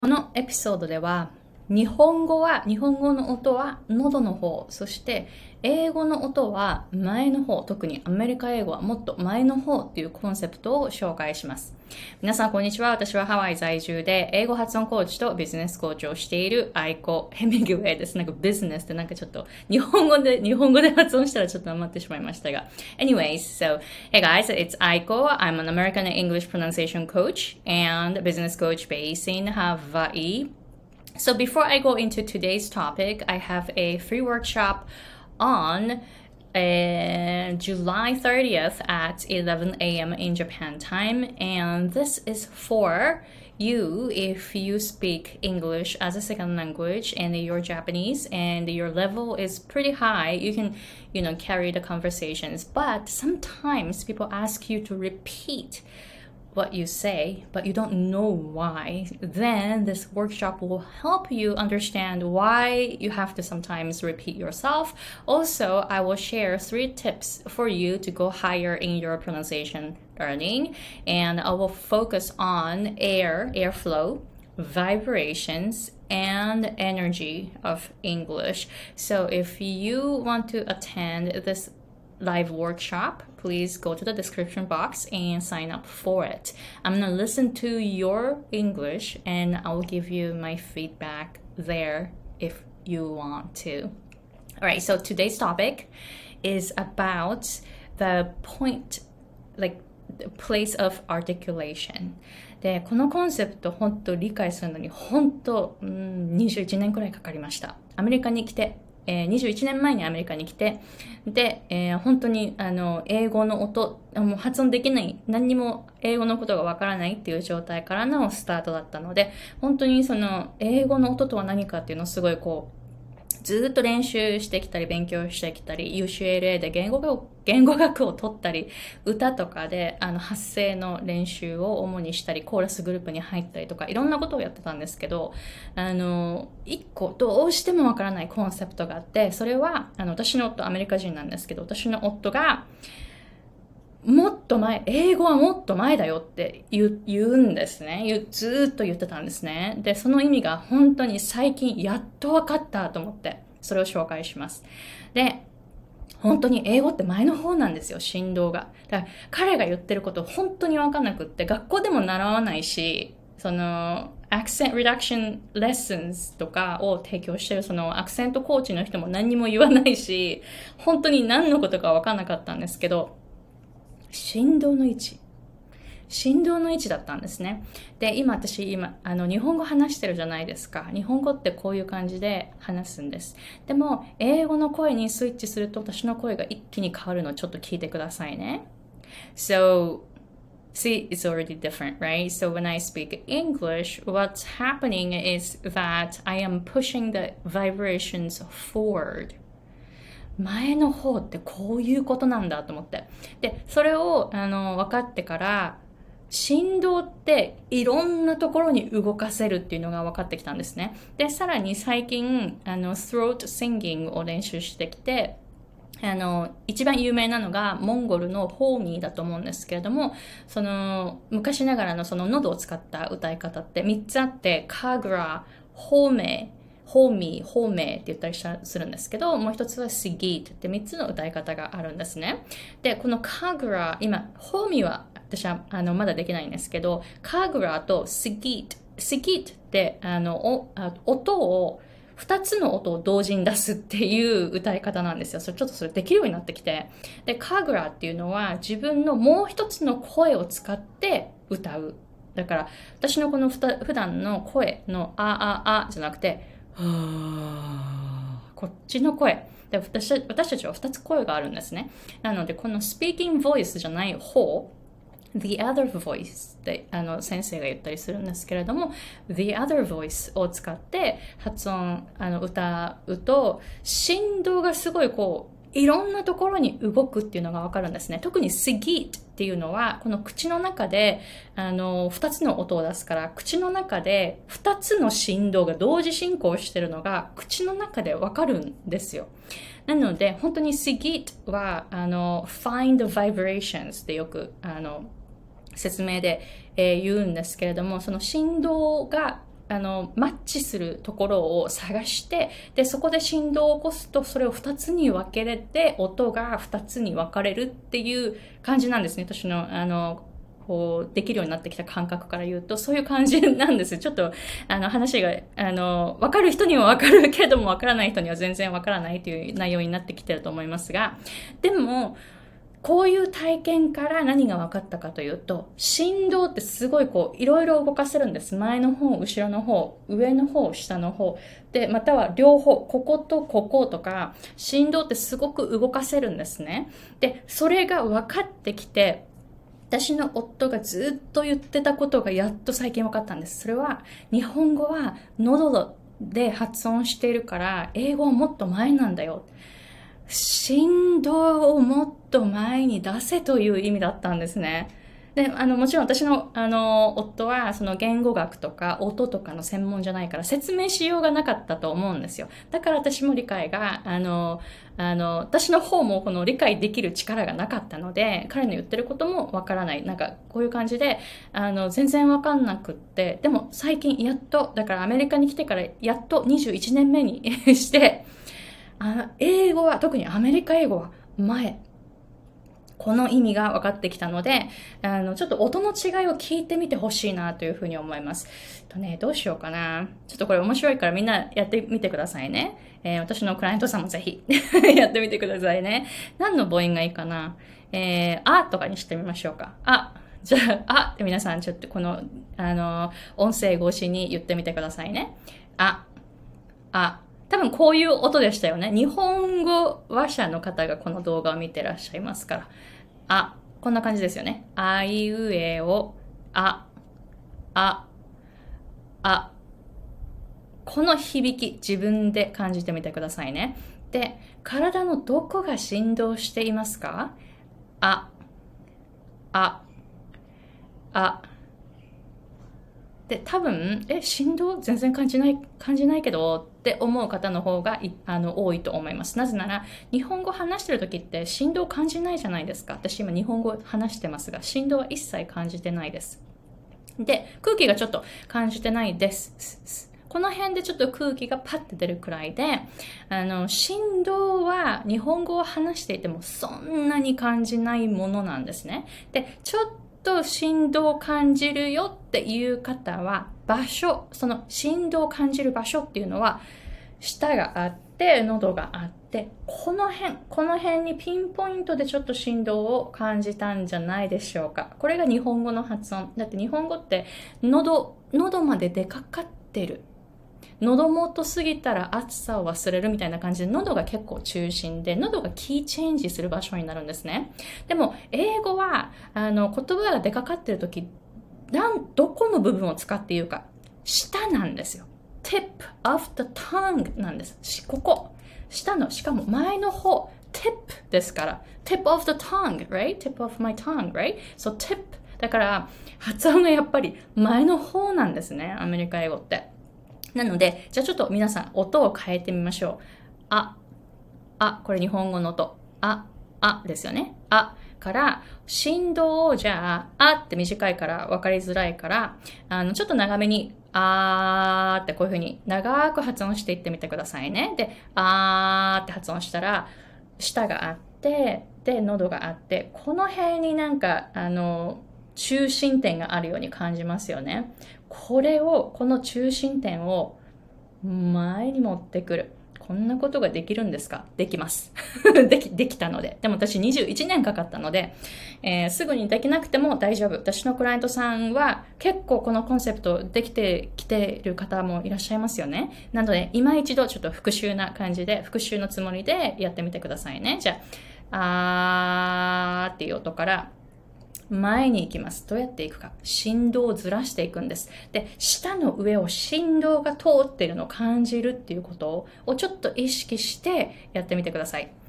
このエピソードでは、日本語の音は喉の方、そして英語の音は前の方、特にアメリカ英語はもっと前の方っていうコンセプトを紹介します。皆さんこんにちは。私はハワイ在住で英語発音コーチとビジネスコーチをしているアイコ・ヘミングウェイです。なんかビジネスってなんかちょっと日本語で発音したらちょっと余ってしまいましたが。Anyways, so hey guys, it's Aiko. I'm an American English pronunciation coach and business coach based in Hawaii.So before I go into today's topic, I have a free workshop on July 30th at 11 a.m. in Japan time. And this is for you if you speak English as a second language and you're Japanese and your level is pretty high. You can, carry the conversations. But sometimes people ask you to repeat what you say, but you don't know why, then this workshop will help you understand why you have to sometimes repeat yourself. Also, I will share 3 tips for you to go higher in your pronunciation learning, and I will focus on airflow, vibrations, and energy of English. So if you want to attend this live workshop, please go to the description box and sign up for it. I'm gonna listen to your English and I'll give you my feedback there if you want to. Alright, so today's topic is about the point, like the place of articulation. で、このコンセプト本当理解するのに本当、21年くらいかかりました。アメリカに来て21年前にアメリカに来て、で、本当に英語の音、もう発音できない、何にも英語のことがわからないっていう状態からのスタートだったので、本当にその英語の音とは何かっていうのをすごいずっと練習してきたり勉強してきたり UCLA で言語学を取ったり歌とかで発声の練習を主にしたりコーラスグループに入ったりとかいろんなことをやってたんですけど一個どうしてもわからないコンセプトがあってそれは私の夫アメリカ人なんですけど私の夫がもっと前、英語はもっと前だよって言うんですね。ずーっと言ってたんですね。で、その意味が本当に最近やっと分かったと思って、それを紹介します。で、本当に英語って前の方なんですよ、振動が。だから彼が言ってること本当に分かんなくって、学校でも習わないし、accent reduction lessons とかを提供してるアクセントコーチの人も何にも言わないし、本当に何のことか分かんなかったんですけど、振動の位置だったんですね。で、今、日本語話してるじゃないですか。日本語ってこういう感じで話すんです。でも、英語の声にスイッチすると、私の声が一気に変わるのをちょっと聞いてくださいね。So, see, it's already different, right? So when I speak English, what's happening is that I am pushing the vibrations forward.前の方ってこういうことなんだと思って。で、それを分かってから、振動っていろんなところに動かせるっていうのが分かってきたんですね。で、さらに最近、throat singing を練習してきて、一番有名なのがモンゴルのホーミーだと思うんですけれども、昔ながらの喉を使った歌い方って3つあって、カグラ、ホーメー、ホーメって言ったりするんですけど、もう一つはシギートって3つの歌い方があるんですね。で、このカグラ、今、ホーミーは私はまだできないんですけど、カグラとシギートって2つの音を同時に出すっていう歌い方なんですよ。ちょっとそれできるようになってきて。で、カグラっていうのは自分のもう一つの声を使って歌う。だから、私のこの普段の声のあじゃなくて、こっちの声で私たちは2つ声があるんですね。なのでこの speaking voice じゃない方 the other voice って先生が言ったりするんですけれども the other voice を使って発音歌うと振動がすごいいろんなところに動くっていうのがわかるんですね。特に sigit っていうのは、この口の中で、二つの音を出すから、口の中で二つの振動が同時進行してるのが、口の中でわかるんですよ。なので、本当に sigit は、find the vibrations ってよく、説明で、言うんですけれども、その振動がマッチするところを探して、で、そこで振動を起こすと、それを2つに分けれて、音が2つに分かれるっていう感じなんですね。私の、こう、できるようになってきた感覚から言うと、そういう感じなんです。ちょっと、話が、わかる人にはわかるけれども、わからない人には全然わからないという内容になってきてると思いますが、でも、こういう体験から何が分かったかというと、振動ってすごいこう、いろいろ動かせるんです。前の方、後ろの方、上の方、下の方。で、または両方、こことこことか、振動ってすごく動かせるんですね。で、それが分かってきて、私の夫がずっと言ってたことがやっと最近分かったんです。それは、日本語は喉で発音しているから、英語はもっと前なんだよ。振動をもっと前に出せという意味だったんですね。で、もちろん私の、夫は、その言語学とか音とかの専門じゃないから説明しようがなかったと思うんですよ。だから私も理解が、私の方もこの理解できる力がなかったので、彼の言ってることもわからない。なんか、こういう感じで、全然わかんなくって、でも最近やっと、だからアメリカに来てからやっと21年目にして、英語は、特にアメリカ英語は前。この意味が分かってきたので、ちょっと音の違いを聞いてみてほしいなというふうに思います。どうしようかな。ちょっとこれ面白いからみんなやってみてくださいね。私のクライアントさんもぜひやってみてくださいね。何の母音がいいかな。あとかにしてみましょうか。じゃあ、って皆さんちょっとこの、音声越しに言ってみてくださいね。多分こういう音でしたよね。日本語話者の方がこの動画を見てらっしゃいますから。こんな感じですよね。あいうえお、この響き、自分で感じてみてくださいね。で、体のどこが振動していますか？で、多分、振動全然感じないけどって思う方の方が多いと思います。なぜなら、日本語話してる時って振動感じないじゃないですか。私今日本語話してますが、振動は一切感じてないです。で、空気がちょっと感じてないです。この辺でちょっと空気がパッて出るくらいで、振動は日本語を話していてもそんなに感じないものなんですね。で、ちょっと振動を感じるよっていう方は、場所、その振動を感じる場所っていうのは、舌があって、喉があって、この辺にピンポイントでちょっと振動を感じたんじゃないでしょうか。これが日本語の発音。だって日本語って喉まで出かかってる。喉元過ぎたら暑さを忘れるみたいな感じで、喉が結構中心で、喉がキーチェンジする場所になるんですね。でも、英語は、言葉が出かかってるとき、どこの部分を使って言うか、舌なんですよ。tip of the tongue なんです。ここ。下の、しかも前の方、tip ですから。tip of the tongue, right? tip of my tongue, right? So tip. だから、発音がやっぱり前の方なんですね。アメリカ英語って。なので、じゃあちょっと皆さん音を変えてみましょう。これ日本語の音。ですよね。から振動をじゃあ、って短いから分かりづらいから、ちょっと長めに、ってこういう風に長く発音していってみてくださいね。で、って発音したら、舌があって、で、喉があって、この辺になんか、中心点があるように感じますよね。この中心点を前に持ってくる。こんなことができるんですか？できます。できたので。でも私21年かかったので、すぐにできなくても大丈夫。私のクライアントさんは結構このコンセプトできてきている方もいらっしゃいますよね。なので、今一度ちょっと復習な感じで、復習のつもりでやってみてくださいね。じゃあ、っていう音から、前に行きます。どうやっていくか。振動をずらしていくんです。で、舌の上を振動が通っているのを感じるっていうことをちょっと意識してやってみてください。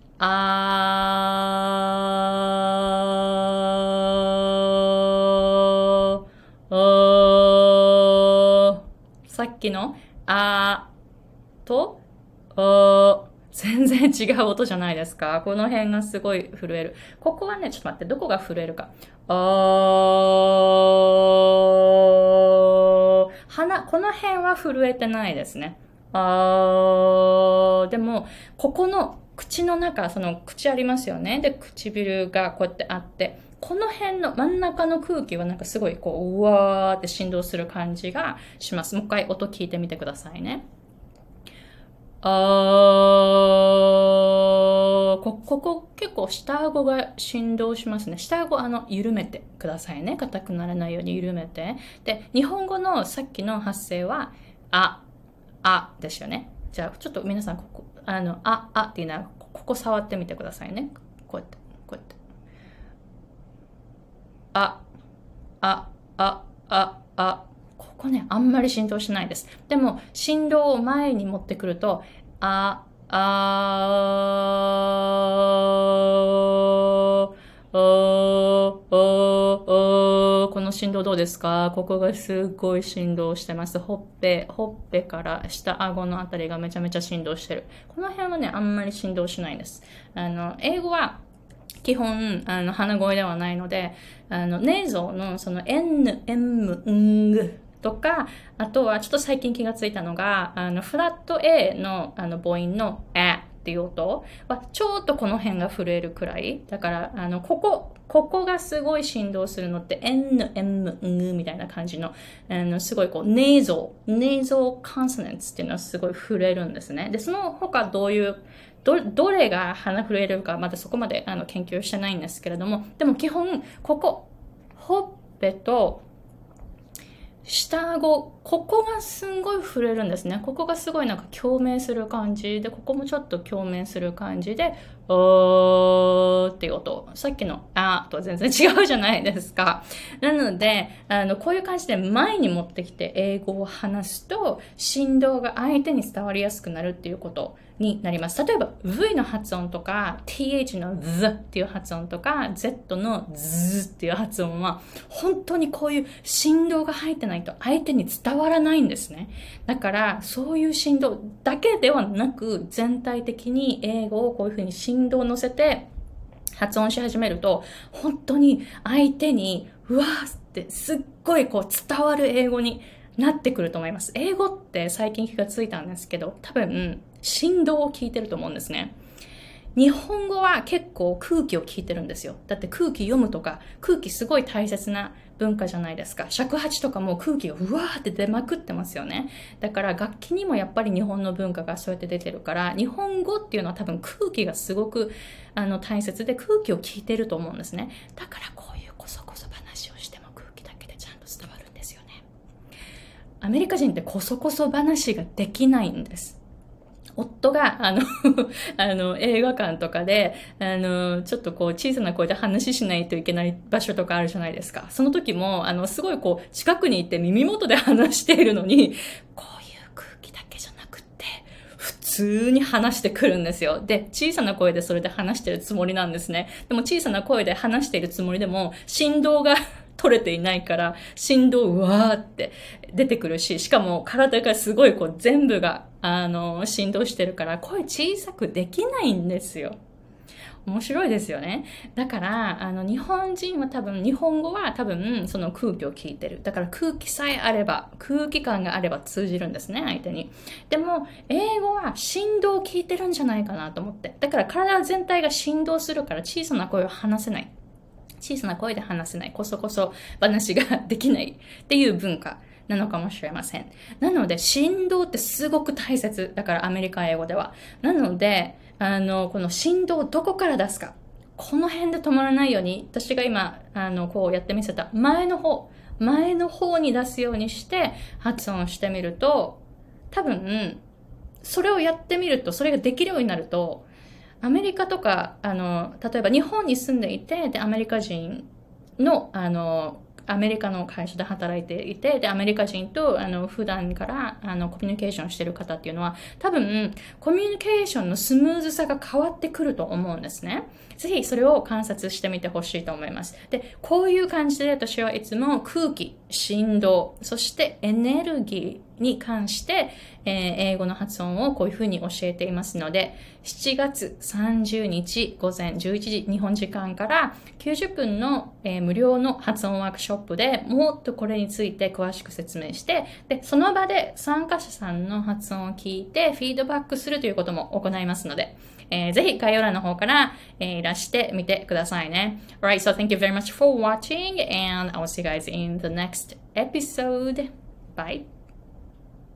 さっきのと全然違う音じゃないですか。この辺がすごい震える。ここはね、ちょっと待って、どこが震えるか。 この辺は震えてないですね。でも、ここの口の中、その口ありますよね。で、唇がこうやってあって、この辺の真ん中の空気はなんかすごいこう、うわーって振動する感じがします。もう一回音聞いてみてくださいね。ここ結構下顎が振動しますね。下顎緩めてくださいね。硬くならないように緩めて。で、日本語のさっきの発声は、ですよね。じゃあ、ちょっと皆さん、ここ、っていうのは、ここ触ってみてくださいね。こうやって、こうやって。ここね、あんまり振動しないです。でも、振動を前に持ってくると、この振動どうですか？ここがすごい振動してます。ほっぺから下顎のあたりがめちゃめちゃ振動してる。この辺はね、あんまり振動しないです。英語は、基本、鼻声ではないので、ネーゾーのその N、M、N とか、あとはちょっと最近気がついたのが、フラット A の母音のっていう音は、ちょっとこの辺が震えるくらい。だから、ここがすごい振動するのって N、M、N みたいな感じの、すごいこう、ネーゾーコンソナンツっていうのはすごい震えるんですね。で、その他どういう、どれが鼻震えるか、まだそこまで研究してないんですけれども、でも基本、ここ、ほっぺと、下顎、ここがすんごい震えるんですね。ここがすごいなんか共鳴する感じで、ここもちょっと共鳴する感じで、っていう音。さっきのとは全然違うじゃないですか。なので、こういう感じで前に持ってきて英語を話すと、振動が相手に伝わりやすくなるっていうことになります。例えば、V の発音とか、TH の Z っていう発音とか、Z の Z っていう発音は、本当にこういう振動が入ってないと相手に伝わらないんですね。だから、そういう振動だけではなく、全体的に英語をこういうふうに振動を乗せて発音し始めると、本当に相手に、うわーってすっごいこう伝わる英語になってくると思います。英語って最近気がついたんですけど、多分、振動を聞いてると思うんですね。日本語は結構空気を聞いてるんですよ。だって空気読むとか、空気すごい大切な文化じゃないですか。尺八とかも空気がうわーって出まくってますよね。だから楽器にもやっぱり日本の文化がそうやって出てるから、日本語っていうのは多分空気がすごく大切で空気を聞いてると思うんですね。だからこういうこそこそ話をしても空気だけでちゃんと伝わるんですよね。アメリカ人ってこそこそ話ができないんです。夫が、映画館とかで、ちょっとこう、小さな声で話しないといけない場所とかあるじゃないですか。その時も、すごいこう、近くにいて耳元で話しているのに、こういう空気だけじゃなくって、普通に話してくるんですよ。で、小さな声でそれで話してるつもりなんですね。でも小さな声で話しているつもりでも、振動が取れていないから、振動うわーって出てくるし、しかも体がすごいこう全部が、振動してるから、声小さくできないんですよ。面白いですよね。だから、日本人は日本語は多分、その空気を聞いてる。だから空気さえあれば、空気感があれば通じるんですね、相手に。でも、英語は振動を聞いてるんじゃないかなと思って。だから体全体が振動するから小さな声を話せない。小さな声で話せない、こそこそ話ができないっていう文化なのかもしれません。なので、振動ってすごく大切。だからアメリカ英語では。なので、この振動をどこから出すか。この辺で止まらないように、私が今、こうやってみせた前の方に出すようにして発音してみると、多分、それをやってみると、それができるようになると、アメリカとか、例えば日本に住んでいて、で、アメリカ人の、アメリカの会社で働いていて、で、アメリカ人と、普段から、コミュニケーションしてる方っていうのは、多分、コミュニケーションのスムーズさが変わってくると思うんですね。ぜひ、それを観察してみてほしいと思います。で、こういう感じで私はいつも空気、振動、そしてエネルギに関して、英語の発音をこういうふうに教えていますので、7月30日午前11時日本時間から90分の、無料の発音ワークショップでもっとこれについて詳しく説明して、で、その場で参加者さんの発音を聞いてフィードバックするということも行いますので、ぜひ概要欄の方から、いらしてみてくださいね。Alright, so thank you very much for watching and I will see you guys in the next episode. Bye.